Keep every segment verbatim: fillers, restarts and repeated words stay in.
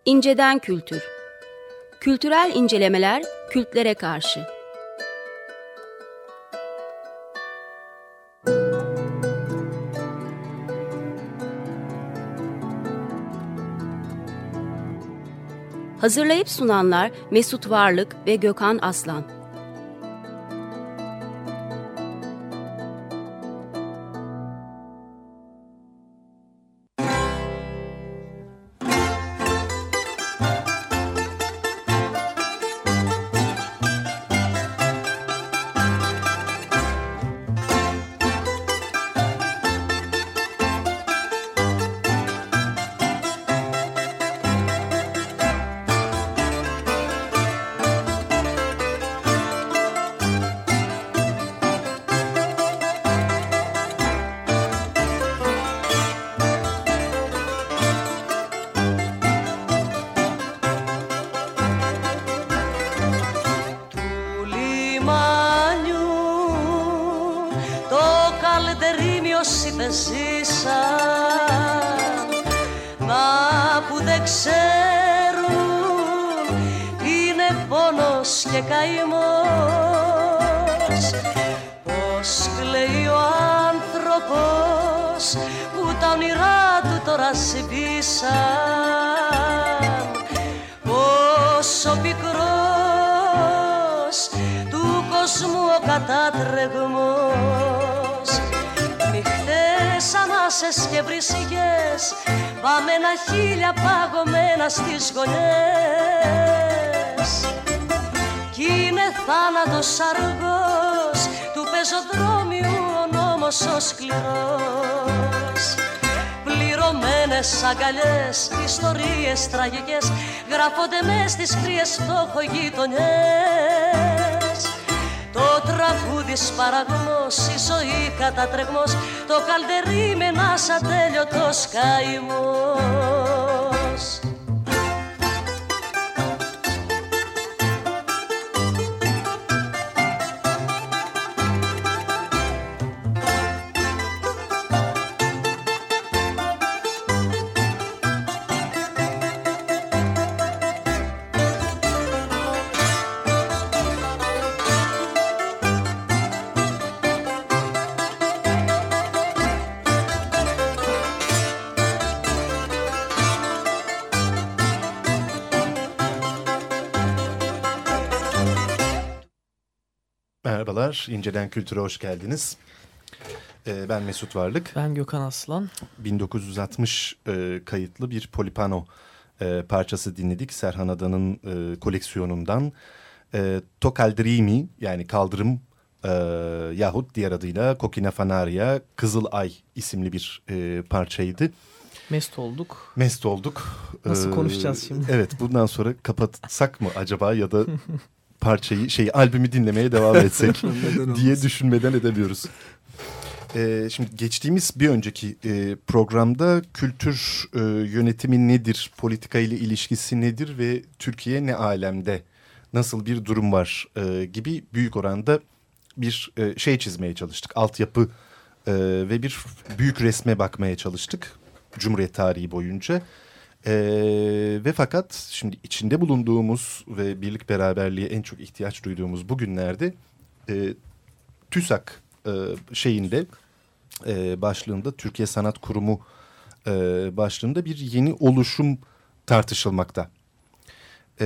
İnceden kültür. Kültürel incelemeler kültlere karşı. Hazırlayıp sunanlar Mesut Varlık ve Gökhan Aslan. Ζήσαν, μα που δεν ξέρουν είναι πόνος και καημός. Πως κλαίει ο άνθρωπος που τα όνειρά του τώρα σβήσαν, πως ο πικρός του κόσμου ο κατάτρεγμος. Νυχτές ανάσες και βρυσικές, βαμμένα χείλια παγωμένα στις γωνιές. Κι είναι θάνατος αργός του πεζοδρόμιου ο νόμος ο σκληρός. Πληρωμένες αγκαλιές, ιστορίες τραγικές γράφονται μες στις κρύες φτωχογειτονιές. Το τραγούδι σπαραγμός, η ζωή κατατρεγμός, το καλτερί με ένας ατέλειωτος καημός. Merhabalar, İnceden Kültür'e hoş geldiniz. Ee, ben Mesut Varlık. Ben Gökhan Aslan. bin dokuz yüz altmış e, kayıtlı bir Polipano e, parçası dinledik. Serhan Adan'ın e, koleksiyonundan. E, To Kaldırimi, yani Kaldırım e, yahut diğer adıyla Kokina Fanaria, Kızıl Ay isimli bir e, parçaydı. Mest olduk. Mest olduk. Nasıl ee, konuşacağız şimdi? Evet, bundan sonra kapatsak mı acaba ya da parçayı, şey albümü dinlemeye devam etsek diye düşünmeden edemiyoruz. Ee, şimdi geçtiğimiz bir önceki e, programda kültür e, yönetimi nedir, politika ile ilişkisi nedir ve Türkiye ne alemde, nasıl bir durum var e, gibi büyük oranda bir e, şey çizmeye çalıştık. Altyapı e, ve bir büyük resme bakmaya çalıştık Cumhuriyet tarihi boyunca. Ee, ve fakat şimdi içinde bulunduğumuz ve birlik beraberliğe en çok ihtiyaç duyduğumuz bu günlerde e, TÜSAK e, şeyinde e, başlığında, Türkiye Sanat Kurumu e, başlığında bir yeni oluşum tartışılmakta. E,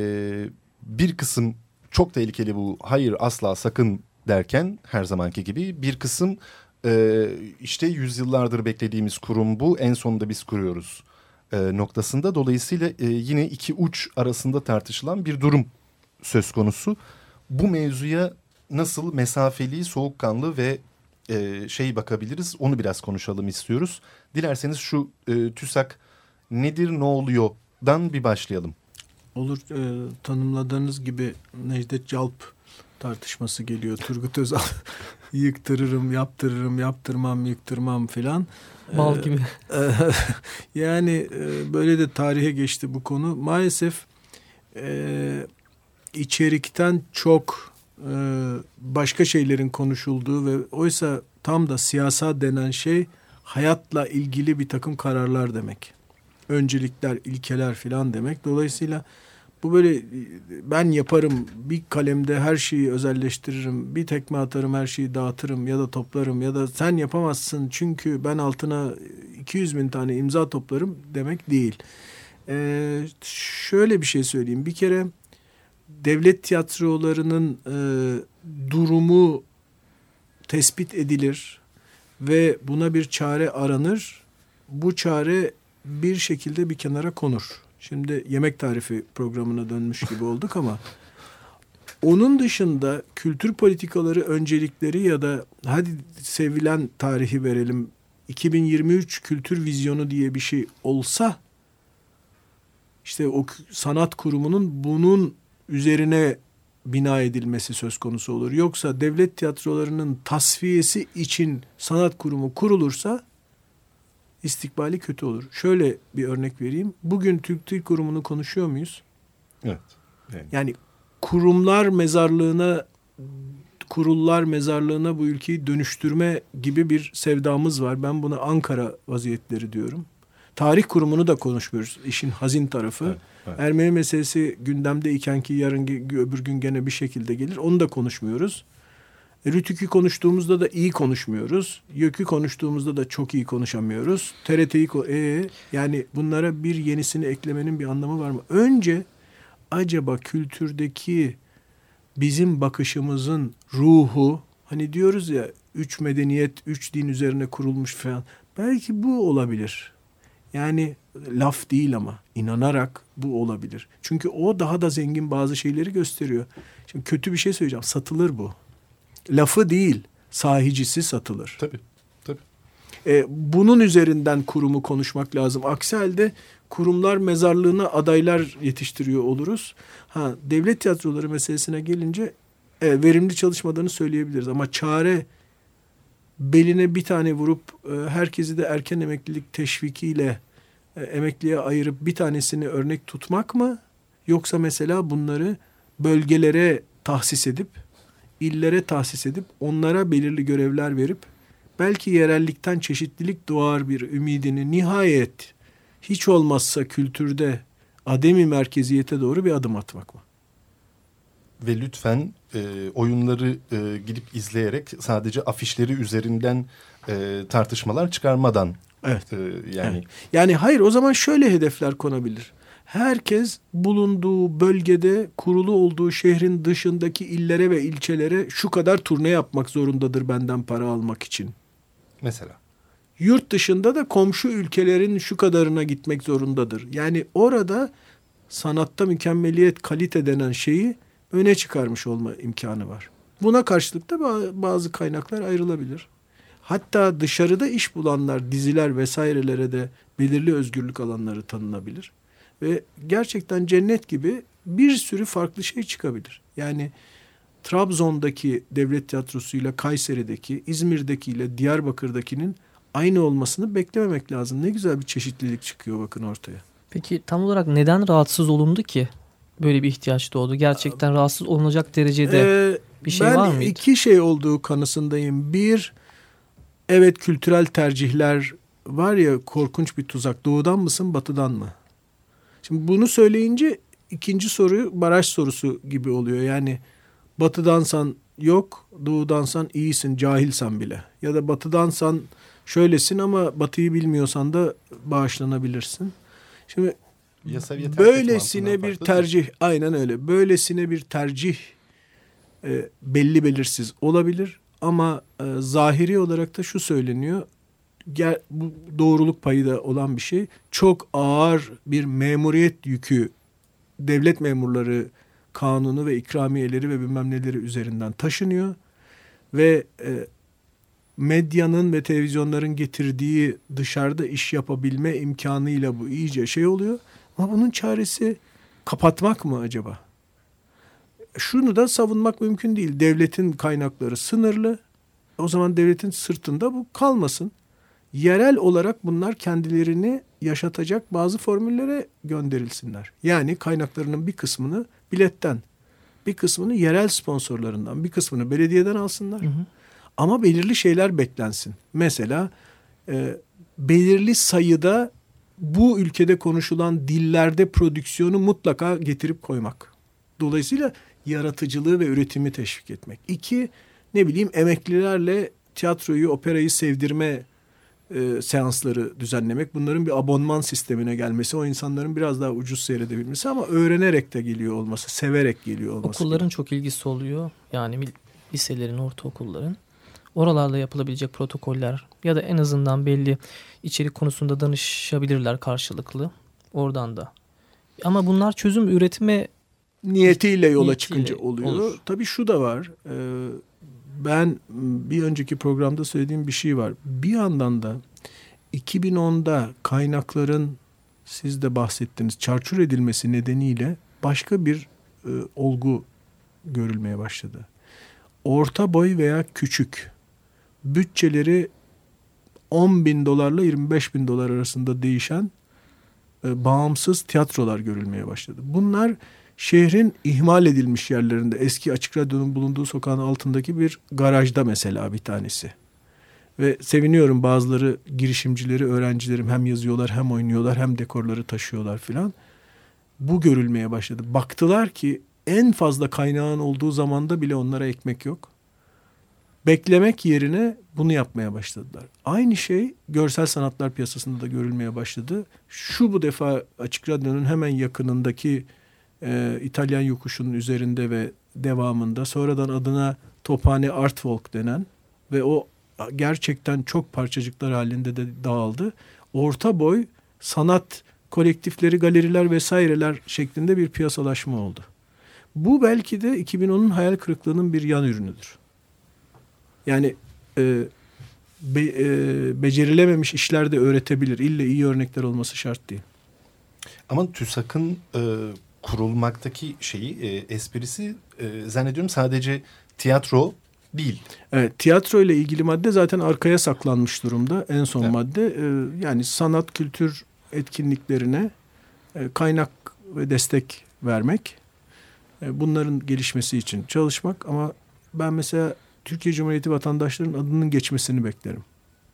bir kısım çok tehlikeli bu, hayır asla sakın derken her zamanki gibi, bir kısım e, işte yüzyıllardır beklediğimiz kurum bu, en sonunda biz kuruyoruz E, noktasında. Dolayısıyla e, yine iki uç arasında tartışılan bir durum söz konusu. Bu mevzuya nasıl mesafeli, soğukkanlı ve e, şey bakabiliriz, onu biraz konuşalım istiyoruz. Dilerseniz şu e, TÜSAK nedir, ne oluyor'dan bir başlayalım. Olur. E, tanımladığınız gibi Necdet Calp tartışması geliyor. Turgut Özal yıktırırım, yaptırırım, yaptırmam, yıktırmam filan. Bal gibi. Yani böyle de tarihe geçti bu konu. Maalesef e, içerikten çok e, başka şeylerin konuşulduğu ve oysa tam da siyasal denen şey hayatla ilgili bir takım kararlar demek. öncelikler, ilkeler filan demek. Dolayısıyla bu böyle ben yaparım, bir kalemde her şeyi özelleştiririm, bir tekme atarım, her şeyi dağıtırım ya da toplarım ya da sen yapamazsın çünkü ben altına iki yüz bin tane imza toplarım demek değil. Ee, şöyle bir şey söyleyeyim. Bir kere devlet tiyatrolarının e, durumu tespit edilir ve buna bir çare aranır. Bu çare bir şekilde bir kenara konur. Şimdi yemek tarifi programına dönmüş gibi olduk ama onun dışında kültür politikaları öncelikleri ya da hadi sevilen tarihi verelim iki bin yirmi üç kültür vizyonu diye bir şey olsa işte o sanat kurumunun bunun üzerine bina edilmesi söz konusu olur. Yoksa devlet tiyatrolarının tasfiyesi için sanat kurumu kurulursa istikbali kötü olur. Şöyle bir örnek vereyim. Bugün Türk Dil Kurumu'nu konuşuyor muyuz? Evet. Yani, yani kurumlar mezarlığına, kurullar mezarlığına bu ülkeyi dönüştürme gibi bir sevdamız var. Ben buna Ankara vaziyetleri diyorum. Tarih kurumunu da konuşmuyoruz. İşin hazin tarafı. Evet, evet. Ermeni meselesi gündemdeyken ki yarın öbür gün gene bir şekilde gelir. Onu da konuşmuyoruz. Rütük'ü konuştuğumuzda da iyi konuşmuyoruz. YÖK'ü konuştuğumuzda da çok iyi konuşamıyoruz. T R T'yi e, yani bunlara bir yenisini eklemenin bir anlamı var mı? Önce acaba kültürdeki bizim bakışımızın ruhu, hani diyoruz ya üç medeniyet, üç din üzerine kurulmuş falan. Belki bu olabilir. Yani laf değil ama inanarak bu olabilir. Çünkü o daha da zengin bazı şeyleri gösteriyor. Şimdi kötü bir şey söyleyeceğim. Satılır bu. Lafı değil, sahicisi satılır. Tabii, tabii. Ee, bunun üzerinden kurumu konuşmak lazım. Aksi halde kurumlar mezarlığına adaylar yetiştiriyor oluruz. Ha, devlet tiyatroları meselesine gelince e, verimli çalışmadığını söyleyebiliriz. Ama çare beline bir tane vurup e, herkesi de erken emeklilik teşvikiyle e, emekliye ayırıp bir tanesini örnek tutmak mı? Yoksa mesela bunları bölgelere tahsis edip illere tahsis edip onlara belirli görevler verip belki yerellikten çeşitlilik doğar bir ümidini nihayet hiç olmazsa kültürde ademi merkeziyete doğru bir adım atmak mı? Ve lütfen e, oyunları e, gidip izleyerek sadece afişleri üzerinden e, tartışmalar çıkarmadan. Evet. E, yani evet. Yani hayır, o zaman şöyle hedefler konabilir. Herkes bulunduğu bölgede, kurulu olduğu şehrin dışındaki illere ve ilçelere şu kadar turne yapmak zorundadır benden para almak için. Mesela. Yurt dışında da komşu ülkelerin şu kadarına gitmek zorundadır. Yani orada sanatta mükemmeliyet, kalite denen şeyi öne çıkarmış olma imkanı var. Buna karşılık da bazı kaynaklar ayrılabilir. Hatta dışarıda iş bulanlar, diziler vesairelere de belirli özgürlük alanları tanınabilir. Ve gerçekten cennet gibi bir sürü farklı şey çıkabilir. Yani Trabzon'daki devlet tiyatrosuyla Kayseri'deki, İzmir'dekiyle Diyarbakır'dakinin aynı olmasını beklememek lazım. Ne güzel bir çeşitlilik çıkıyor bakın ortaya. Peki tam olarak neden rahatsız olundu ki? Böyle bir ihtiyaç doğdu. Gerçekten rahatsız olunacak derecede ee, bir şey var mıydı? Ben iki şey olduğu kanısındayım. Bir, evet kültürel tercihler var ya, korkunç bir tuzak. Doğudan mısın, batıdan mı? Şimdi bunu söyleyince ikinci soru baraj sorusu gibi oluyor. Yani batıdansan yok, doğudansan iyisin, cahilsen bile. Ya da batıdansan şöylesin ama batıyı bilmiyorsan da bağışlanabilirsin. Şimdi böylesine bir tercih, aynen öyle. Böylesine bir tercih e, belli belirsiz olabilir. Ama e, zahiri olarak da şu söyleniyor. Ger, bu doğruluk payı da olan bir şey. Çok ağır bir memuriyet yükü devlet memurları kanunu ve ikramiyeleri ve bilmem neleri üzerinden taşınıyor. Ve e, medyanın ve televizyonların getirdiği dışarıda iş yapabilme imkanıyla bu iyice şey oluyor. Ama bunun çaresi kapatmak mı acaba? Şunu da savunmak mümkün değil. Devletin kaynakları sınırlı. O zaman devletin sırtında bu kalmasın. Yerel olarak bunlar kendilerini yaşatacak bazı formüllere gönderilsinler. Yani kaynaklarının bir kısmını biletten, bir kısmını yerel sponsorlarından, bir kısmını belediyeden alsınlar. Hı hı. Ama belirli şeyler beklensin. Mesela e, belirli sayıda bu ülkede konuşulan dillerde prodüksiyonu mutlaka getirip koymak. Dolayısıyla yaratıcılığı ve üretimi teşvik etmek. İki, ne bileyim emeklilerle tiyatroyu, operayı sevdirme e, seansları düzenlemek. Bunların bir abonman sistemine gelmesi, o insanların biraz daha ucuz seyredebilmesi ama öğrenerek de geliyor olması, severek geliyor olması. Okulların gibi. çok ilgisi oluyor. Yani liselerin, ortaokulların. Oralarla yapılabilecek protokoller ya da en azından belli içerik konusunda danışabilirler karşılıklı. Oradan da. Ama bunlar çözüm üretme niyetiyle yola niyetiyle çıkınca oluyor. olur. Tabii şu da var. E, ben bir önceki programda söylediğim bir şey var. Bir yandan da iki bin onda kaynakların siz de bahsettiniz çarçur edilmesi nedeniyle başka bir e, olgu görülmeye başladı. Orta boy veya küçük bütçeleri on bin dolarla yirmi beş bin dolar arasında değişen e, bağımsız tiyatrolar görülmeye başladı. Bunlar şehrin ihmal edilmiş yerlerinde, eski Açık Radyo'nun bulunduğu sokağın altındaki bir garajda mesela bir tanesi. Ve seviniyorum, bazıları girişimcileri, öğrencilerim hem yazıyorlar hem oynuyorlar hem dekorları taşıyorlar filan. Bu görülmeye başladı. Baktılar ki en fazla kaynağın olduğu zamanda bile onlara ekmek yok. Beklemek yerine bunu yapmaya başladılar. Aynı şey görsel sanatlar piyasasında da görülmeye başladı. Şu bu defa Açık Radyo'nun hemen yakınındaki e, İtalyan yokuşunun üzerinde ve devamında sonradan adına Tophane Art Walk denen ve o gerçekten çok parçacıklar halinde de dağıldı. Orta boy sanat kolektifleri, galeriler vesaireler şeklinde bir piyasalaşma oldu. Bu belki de iki bin onun hayal kırıklığının bir yan ürünüdür. Yani e, be, e, becerilememiş işler de öğretebilir. İlle iyi örnekler olması şart değil. Ama TÜSAK'ın e, kurulmaktaki şeyi, e, esprisi e, zannediyorum sadece tiyatro değil. Evet, tiyatro ile ilgili madde zaten arkaya saklanmış durumda. En son evet. madde e, yani sanat kültür etkinliklerine e, kaynak ve destek vermek. E, bunların gelişmesi için çalışmak. Ama ben mesela Türkiye Cumhuriyeti vatandaşlarının adının geçmesini beklerim.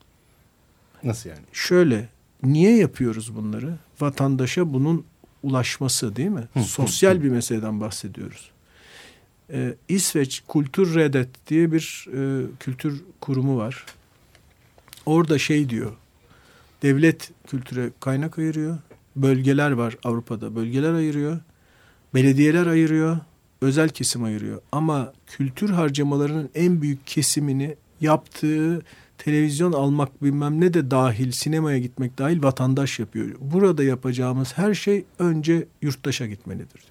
Nasıl yani? Şöyle, niye yapıyoruz bunları? Vatandaşa bunun ulaşması, değil mi? Hı, Sosyal hı, bir meseleden bahsediyoruz. Ee, İsveç Kulturredet diye bir e, kültür kurumu var. Orada şey diyor, devlet kültüre kaynak ayırıyor. Bölgeler var Avrupa'da, bölgeler ayırıyor. Belediyeler ayırıyor. Özel kesim ayırıyor. Ama kültür harcamalarının en büyük kesimini yaptığı televizyon almak bilmem ne de dahil, sinemaya gitmek dahil vatandaş yapıyor. Burada yapacağımız her şey önce yurttaşa gitmelidir diyor.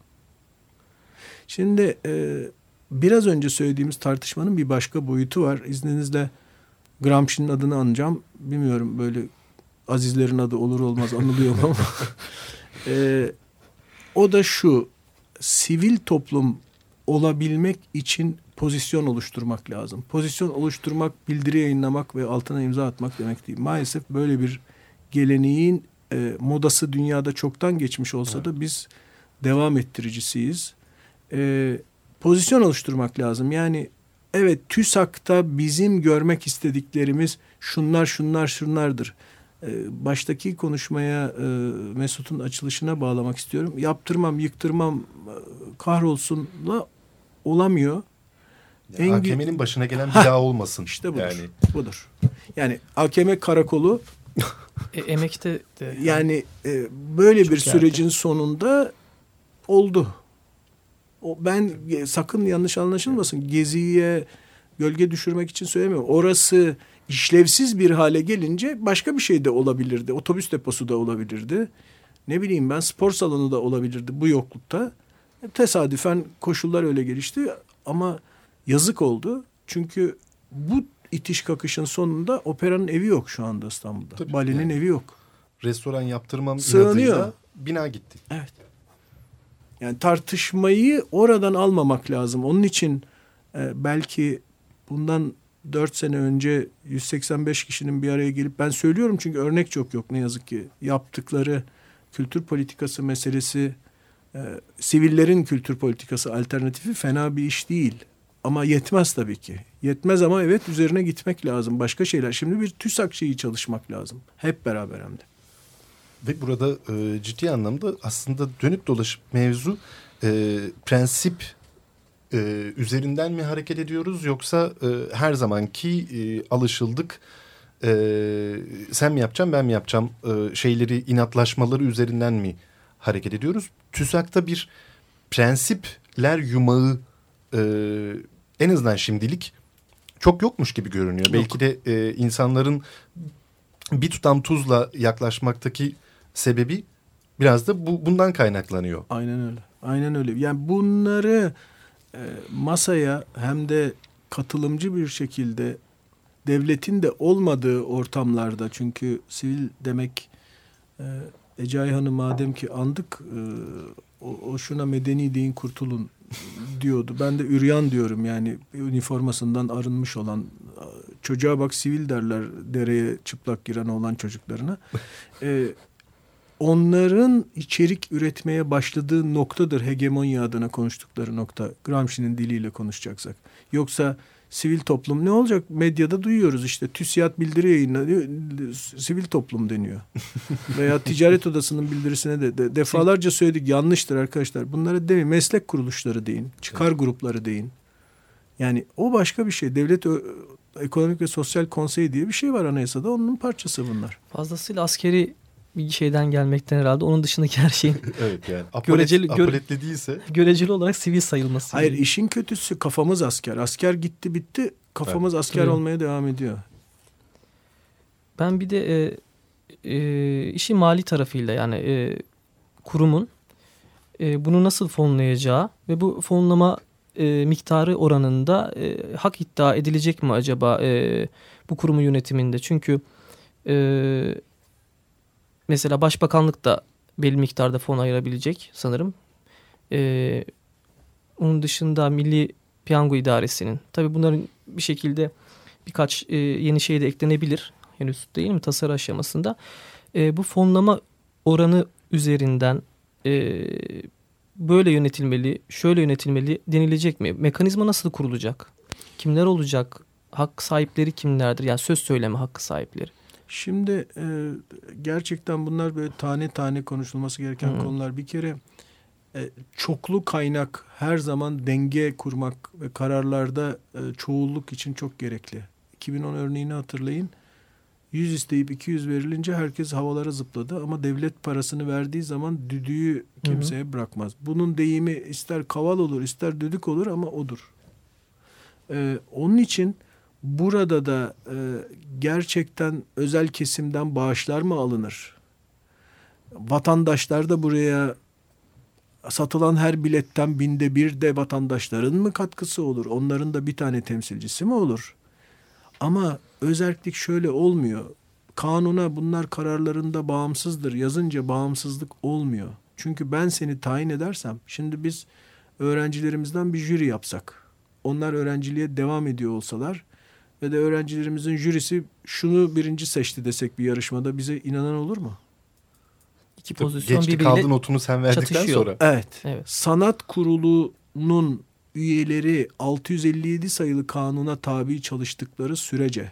Şimdi e, biraz önce söylediğimiz tartışmanın bir başka boyutu var. İzninizle Gramsci'nin adını anacağım. Bilmiyorum, böyle azizlerin adı olur olmaz anılıyor mu ama. e, o da şu: sivil toplum olabilmek için pozisyon oluşturmak lazım. Pozisyon oluşturmak, bildiri yayınlamak ve altına imza atmak demek değil. Maalesef böyle bir geleneğin e, modası dünyada çoktan geçmiş olsa da biz devam ettiricisiyiz. E, pozisyon oluşturmak lazım. Yani evet, TÜSAK'ta bizim görmek istediklerimiz şunlar şunlar şunlardır. E, baştaki konuşmaya e, Mesut'un açılışına bağlamak istiyorum. Yaptırmam, yıktırmam, e, kahrolsunla olamıyor. Yani A K M'nin başına gelen bir daha olmasın. İşte budur. Yani. budur. Yani A K M karakolu e, emekte de yani e, böyle çok bir sürecin yerde. sonunda oldu. O, ben e, sakın yanlış anlaşılmasın. Gezi'ye gölge düşürmek için söylemiyorum. Orası işlevsiz bir hale gelince başka bir şey de olabilirdi. Otobüs deposu da olabilirdi. Ne bileyim ben, spor salonu da olabilirdi bu yoklukta. Tesadüfen koşullar öyle gelişti ama yazık oldu. Çünkü bu itiş kakışın sonunda operanın evi yok şu anda İstanbul'da. Tabii, Balenin yani. evi yok. Restoran yaptırmam Sığınıyor. inadıyla bina gitti. Evet. Yani tartışmayı oradan almamak lazım. Onun için e, belki bundan dört sene önce yüz seksen beş kişinin bir araya gelip, ben söylüyorum çünkü örnek çok yok ne yazık ki, yaptıkları kültür politikası meselesi, e, sivillerin kültür politikası alternatifi fena bir iş değil. Ama yetmez tabii ki. Yetmez ama evet, üzerine gitmek lazım. Başka şeyler. Şimdi bir TÜSAK şeyi çalışmak lazım. Hep beraber hem de. Ve burada e, ciddi anlamda aslında dönüp dolaşıp mevzu e, prensip e, üzerinden mi hareket ediyoruz yoksa e, her zamanki e, alışıldık e, sen mi yapacaksın ben mi yapacağım e, şeyleri inatlaşmaları üzerinden mi hareket ediyoruz? TÜSAK'ta bir prensipler yumağı e, en azından şimdilik çok yokmuş gibi görünüyor. Yok. Belki de e, insanların bir tutam tuzla yaklaşmaktaki sebebi biraz da bu, bundan kaynaklanıyor. Aynen öyle. Aynen öyle. Yani bunları e, masaya hem de katılımcı bir şekilde devletin de olmadığı ortamlarda, çünkü sivil demek e, Ece Ayhan'ı madem ki andık e, o, o şuna medeni deyin kurtulun diyordu. Ben de üryan diyorum, yani üniformasından arınmış olan çocuğa bak sivil derler dereye çıplak giren olan çocuklarına. E, onların içerik üretmeye başladığı noktadır hegemonya adına konuştukları nokta. Gramsci'nin diliyle konuşacaksak. Yoksa sivil toplum ne olacak? Medyada duyuyoruz işte TÜSİAD bildiri yayınlanıyor. Sivil toplum deniyor. Veya ticaret odasının bildirisine de, de defalarca söyledik, yanlıştır arkadaşlar. Bunlara demeyin, meslek kuruluşları deyin. Çıkar evet. grupları deyin. Yani o başka bir şey. Devlet Ekonomik ve Sosyal Konseyi diye bir şey var anayasada. Onun parçası bunlar. Fazlasıyla askeri bir şeyden gelmekten herhalde. Onun dışındaki her şeyin evet yani apolet, göreceli, apoletli değilse. Göreceli olarak sivil sayılması. Hayır, işin kötüsü kafamız asker. Asker gitti bitti. Kafamız evet. asker evet. olmaya devam ediyor. Ben bir de e, e, işin mali tarafıyla, yani e, kurumun e, bunu nasıl fonlayacağı ve bu fonlama e, miktarı oranında e, hak iddia edilecek mi acaba e, bu kurumun yönetiminde? Çünkü e, mesela Başbakanlık da belli miktarda fon ayırabilecek sanırım. Ee, onun dışında Milli Piyango İdaresi'nin. Tabii bunların bir şekilde birkaç e, yeni şey de eklenebilir. Henüz değil mi tasarı aşamasında. E, bu fonlama oranı üzerinden e, böyle yönetilmeli, şöyle yönetilmeli denilecek mi? Mekanizma nasıl kurulacak? Kimler olacak? Hak sahipleri kimlerdir? Yani söz söyleme hakkı sahipleri. Şimdi e, gerçekten bunlar böyle tane tane konuşulması gereken hmm. konular. Bir kere e, çoklu kaynak her zaman denge kurmak ve kararlarda e, çoğulluk için çok gerekli. iki bin on örneğini hatırlayın. yüz isteyip iki yüz verilince herkes havalara zıpladı ama devlet parasını verdiği zaman düdüğü kimseye hmm. bırakmaz. Bunun deyimi ister kaval olur ister düdük olur ama odur. E, onun için burada da e, gerçekten özel kesimden bağışlar mı alınır? Vatandaşlar da buraya satılan her biletten binde bir de vatandaşların mı katkısı olur? Onların da bir tane temsilcisi mi olur? Ama özerklik şöyle olmuyor. Kanuna bunlar kararlarında bağımsızdır yazınca bağımsızlık olmuyor. Çünkü ben seni tayin edersem, şimdi biz öğrencilerimizden bir jüri yapsak, onlar öğrenciliğe devam ediyor olsalar ve de öğrencilerimizin jürisi şunu birinci seçti desek bir yarışmada, bize inanan olur mu? İki pozisyon Geçti kaldı notunu sen verdikten çatışıyor. sonra. Evet. evet. Sanat Kurulu'nun üyeleri altı yüz elli yedi sayılı kanuna tabi çalıştıkları sürece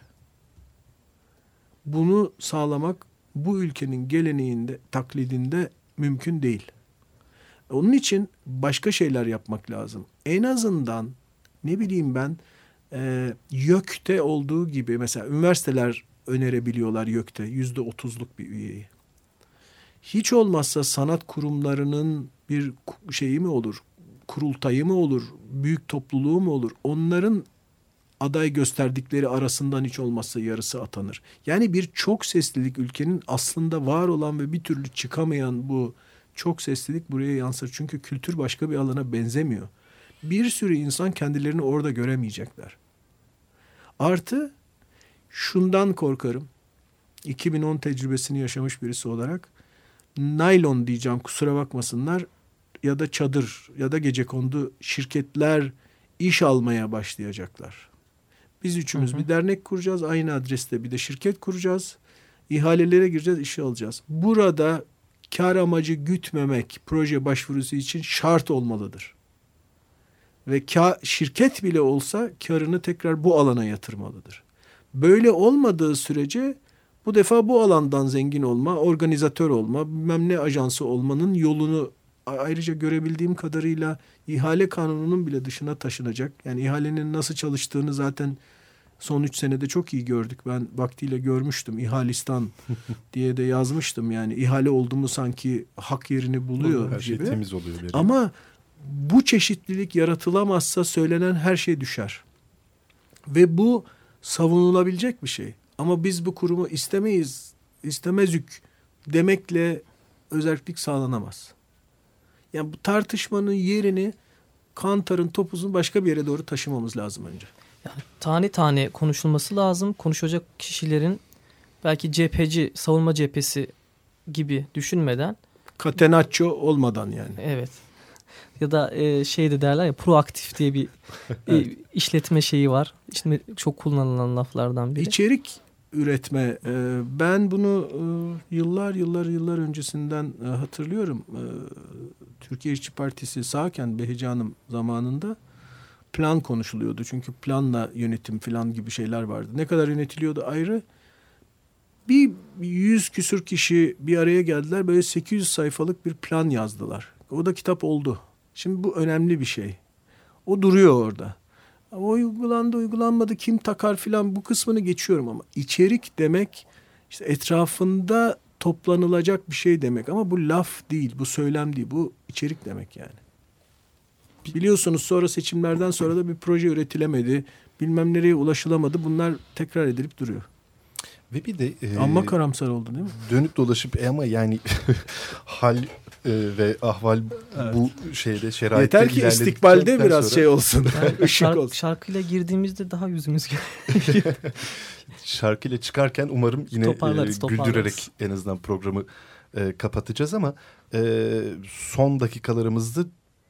bunu sağlamak bu ülkenin geleneğinde, taklidinde mümkün değil. Onun için başka şeyler yapmak lazım. En azından ne bileyim ben e, YÖK'te olduğu gibi mesela üniversiteler önerebiliyorlar YÖK'te yüzde otuzluk bir üyeyi. Hiç olmazsa sanat kurumlarının bir şeyi mi olur, kurultayı mı olur, büyük topluluğu mu olur? Onların aday gösterdikleri arasından hiç olmazsa yarısı atanır. Yani bir çok seslilik, ülkenin aslında var olan ve bir türlü çıkamayan bu çok seslilik buraya yansır. Çünkü kültür başka bir alana benzemiyor. Bir sürü insan kendilerini orada göremeyecekler. Artı şundan korkarım. iki bin on tecrübesini yaşamış birisi olarak naylon diyeceğim, kusura bakmasınlar, ya da çadır ya da gecekondu şirketler iş almaya başlayacaklar. Biz üçümüz hı hı. bir dernek kuracağız. Aynı adreste bir de şirket kuracağız. İhalelere gireceğiz, işi alacağız. Burada kar amacı gütmemek proje başvurusu için şart olmalıdır. Ve kar, şirket bile olsa karını tekrar bu alana yatırmalıdır. Böyle olmadığı sürece Bu defa bu alandan zengin olma, organizatör olma, bilmem ne ajansı olmanın yolunu ayrıca görebildiğim kadarıyla ihale kanununun bile dışına taşınacak. Yani ihalenin nasıl çalıştığını zaten son üç senede çok iyi gördük. Ben vaktiyle görmüştüm. İhalistan diye de yazmıştım. Yani ihale oldu mu sanki hak yerini buluyor her şey gibi. temiz oluyor. Veriyor. Ama bu çeşitlilik yaratılamazsa söylenen her şey düşer. Ve bu savunulabilecek bir şey. Ama biz bu kurumu istemeyiz, istemezük demekle özerklik sağlanamaz. Yani bu tartışmanın yerini Kantar'ın topuzunu başka bir yere doğru taşımamız lazım önce. Yani tane tane konuşulması lazım. Konuşacak kişilerin belki cepheci, savunma cephesi gibi düşünmeden. Catenaccio olmadan yani. Evet. Ya da e, şey de derler ya, proaktif diye bir e, işletme şeyi var. İşte çok kullanılan laflardan biri. İçerik üretme. E, ben bunu e, yıllar yıllar yıllar öncesinden e, hatırlıyorum. E, Türkiye İşçi Partisi sağken Behice Hanım zamanında plan konuşuluyordu. Çünkü planla yönetim falan gibi şeyler vardı. Ne kadar yönetiliyordu ayrı. Bir yüz küsür kişi bir araya geldiler. Böyle sekiz yüz sayfalık bir plan yazdılar. O da kitap oldu. Şimdi bu önemli bir şey. O duruyor orada. O uygulandı, uygulanmadı, kim takar filan, bu kısmını geçiyorum ama içerik demek işte etrafında toplanılacak bir şey demek. Ama bu laf değil, bu söylem değil, bu içerik demek yani. Biliyorsunuz sonra seçimlerden sonra da bir proje üretilemedi, bilmem nereye ulaşılamadı. Bunlar tekrar edilip duruyor. Ve bir de e, amma karamsar oldu değil mi? Dönüp dolaşıp e ama yani hal e, ve ahval Evet. bu şeyde şeraitte Yeter ki istikbalde biraz sonra, şey olsun. Yani Işık şark, olsun. şarkıyla girdiğimizde daha yüzümüz gülüyor. şarkıyla çıkarken umarım yine Toparlarız, e, toparlarız. güldürerek en azından programı e, kapatacağız ama e, son dakikalarımızda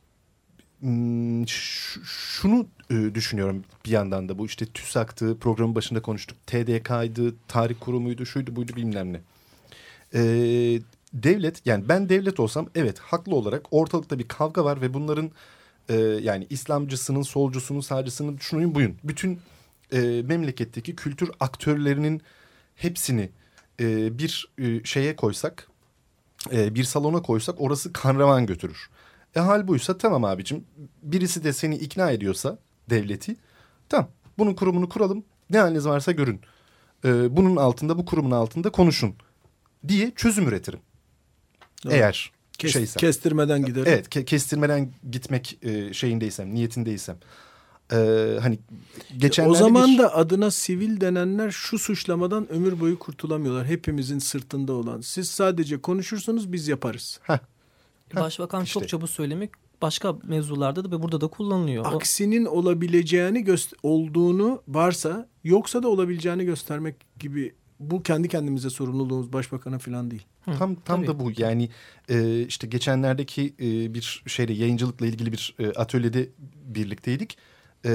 m, ş- şunu e, düşünüyorum bir yandan da, bu işte TÜSAK'tı, programın başında konuştuk, T D K'ydı, tarih kurumuydu, şuydu buydu bilmem ne. E, devlet, yani ben devlet olsam evet haklı olarak ortalıkta bir kavga var ve bunların e, yani İslamcısının, solcusunun, sağcısının, şunun buyun, bütün e, memleketteki kültür aktörlerinin hepsini e, bir e, şeye koysak, e, bir salona koysak orası kanravan götürür. E hal buysa tamam abicim, birisi de seni ikna ediyorsa devleti, tamam bunun kurumunu kuralım, ne haliniz varsa görün. E, bunun altında, bu kurumun altında konuşun diye çözüm üretirim. Doğru. Eğer Kes, şeysem. kestirmeden giderim. Evet, ke- kestirmeden gitmek e, şeyindeysem, niyetindeysem. E, hani geçenlerde O zaman bir... da adına sivil denenler şu suçlamadan ömür boyu kurtulamıyorlar. Hepimizin sırtında olan. Siz sadece konuşursanız biz yaparız. Heh. Başbakan işte. çokça bu söylemi başka mevzularda da ve burada da kullanılıyor. O- Aksinin olabileceğini göster- olduğunu varsa, yoksa da olabileceğini göstermek gibi, bu kendi kendimize sorumluluğumuz, başbakana falan değil. Hı, Tam tam tabii. da bu yani e, işte geçenlerdeki e, bir şeyde, yayıncılıkla ilgili bir e, atölyede birlikteydik. E,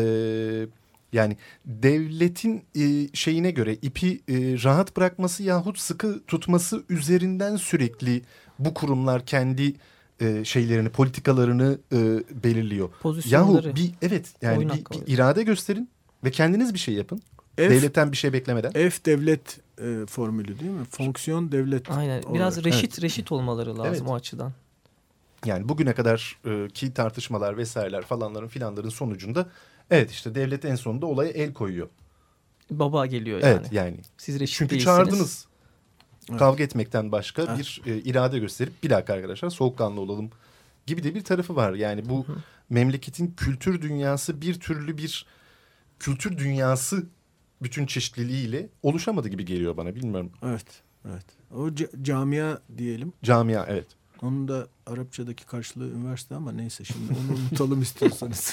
yani devletin e, şeyine göre ipi e, rahat bırakması yahut sıkı tutması üzerinden sürekli bu kurumlar kendi e, şeylerini, politikalarını e, belirliyor. Pozisyonları. Yahu bir evet yani Oyun bir, hakkı bir oluyor. irade gösterin ve kendiniz bir şey yapın. F, Devletten bir şey beklemeden. F devlet e, formülü değil mi? Fonksiyon devlet. Aynen. olarak. Biraz reşit Evet. reşit olmaları lazım Evet. o açıdan. Yani bugüne kadar e, ki tartışmalar vesaireler falanların filanların sonucunda evet işte devlet en sonunda olaya el koyuyor. Baba geliyor yani. Evet yani. Siz reşit Çünkü değilsiniz. çağırdınız. Evet. Kavga etmekten başka Evet. bir e, irade gösterip bir dakika arkadaşlar soğukkanlı olalım gibi de bir tarafı var. Yani bu Hı hı. memleketin kültür dünyası bir türlü bir kültür dünyası bütün çeşitliliğiyle oluşamadı gibi geliyor bana, bilmiyorum. Evet. Evet. O ca- camia diyelim. Camia evet. Onun da Arapçadaki karşılığı üniversite ama neyse, şimdi onu unutalım istiyorsanız.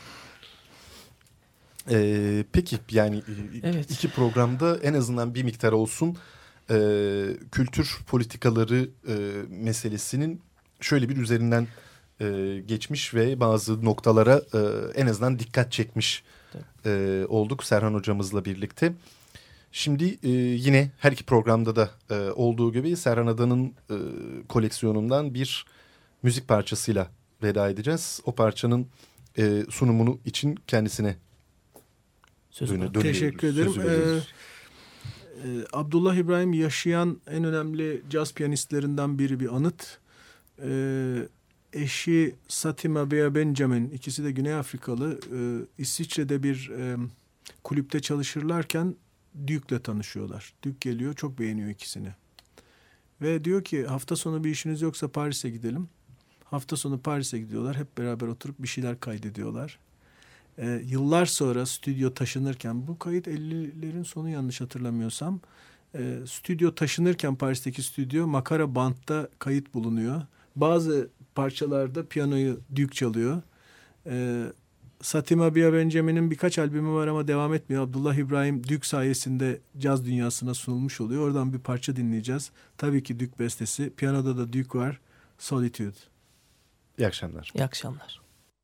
Ee, peki yani e, Evet. iki programda en azından bir miktar olsun e, kültür politikaları e, meselesinin şöyle bir üzerinden e, geçmiş ve bazı noktalara e, en azından dikkat çekmiş e, olduk Serhan hocamızla birlikte. Şimdi e, yine her iki programda da e, olduğu gibi Serhan Adan'ın e, koleksiyonundan bir müzik parçasıyla veda edeceğiz. O parçanın e, sunumunu için kendisine Sözü dönü- bırak. dönüyoruz, Teşekkür ederim. sözü veriyoruz. Ee, Ee, Abdullah İbrahim yaşayan en önemli caz piyanistlerinden biri, bir anıt. Ee, eşi Satima Bea Benjamin, ikisi de Güney Afrikalı. Ee, İsviçre'de bir e, kulüpte çalışırlarken Duke'le tanışıyorlar. Duke geliyor, çok beğeniyor ikisini. Ve diyor ki hafta sonu bir işiniz yoksa Paris'e gidelim. Hafta sonu Paris'e gidiyorlar. Hep beraber oturup bir şeyler kaydediyorlar. Ee, yıllar sonra stüdyo taşınırken, bu kayıt ellilerin sonu yanlış hatırlamıyorsam, e, stüdyo taşınırken Paris'teki stüdyo makara bantta kayıt bulunuyor. Bazı parçalarda piyanoyu Duke çalıyor. Ee, Satima Bea Benjamin'in birkaç albümü var ama devam etmiyor. Abdullah İbrahim Duke sayesinde caz dünyasına sunulmuş oluyor. Oradan bir parça dinleyeceğiz. Tabii ki Duke bestesi. Piyanoda da Duke var. Solitude. İyi akşamlar. İyi akşamlar.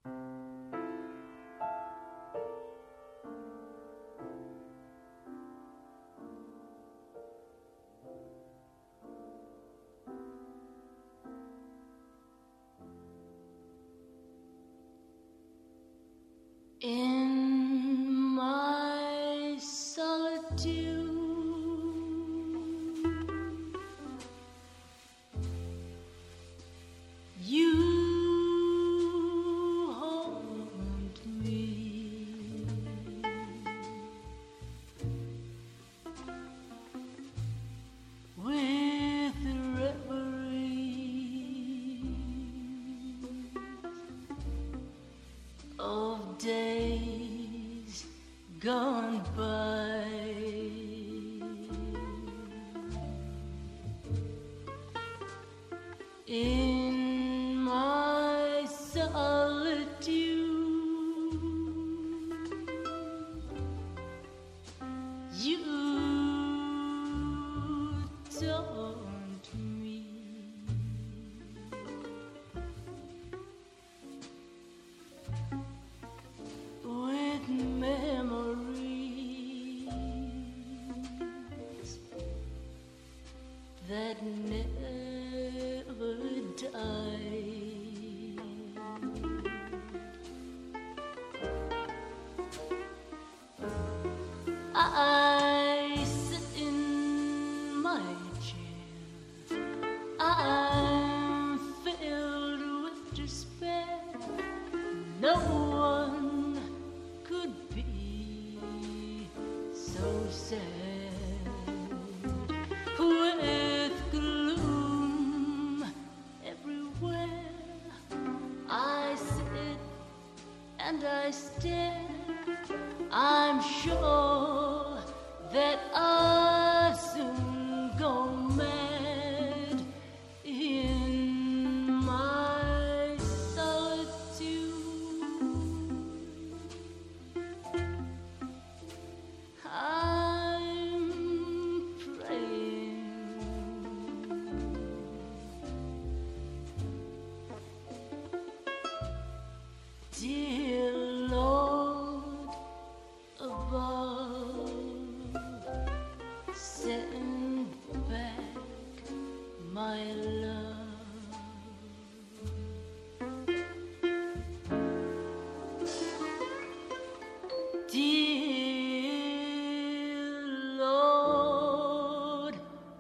In my solitude, you haunt me. With reverie of days gone by. In my solitude, you taunt me. With memories that never die. I sit in my chair, I'm filled with despair. No one could be so sad. With gloom everywhere, I sit and I stare. I'm sure that I'll soon go mad in my solitude. I'm praying dear Lord above, send back my love. Dear Lord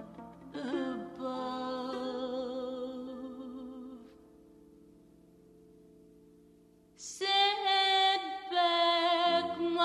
above, send back my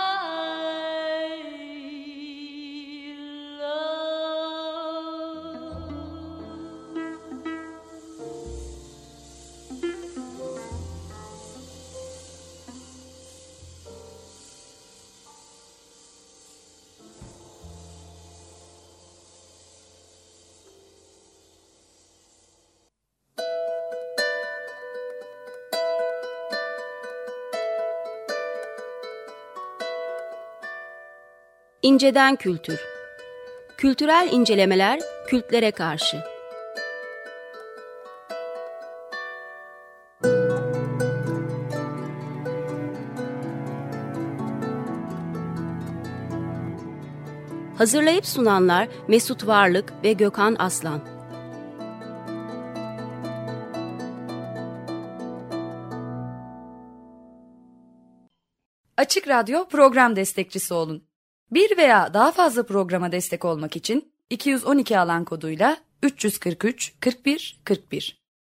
İnceden Kültür. Kültürel incelemeler kültlere karşı. Hazırlayıp sunanlar Mesut Varlık ve Gökhan Aslan. Açık Radyo program destekçisi olun. Bir veya daha fazla programa destek olmak için iki yüz on iki alan koduyla üç yüz kırk üç kırk bir kırk bir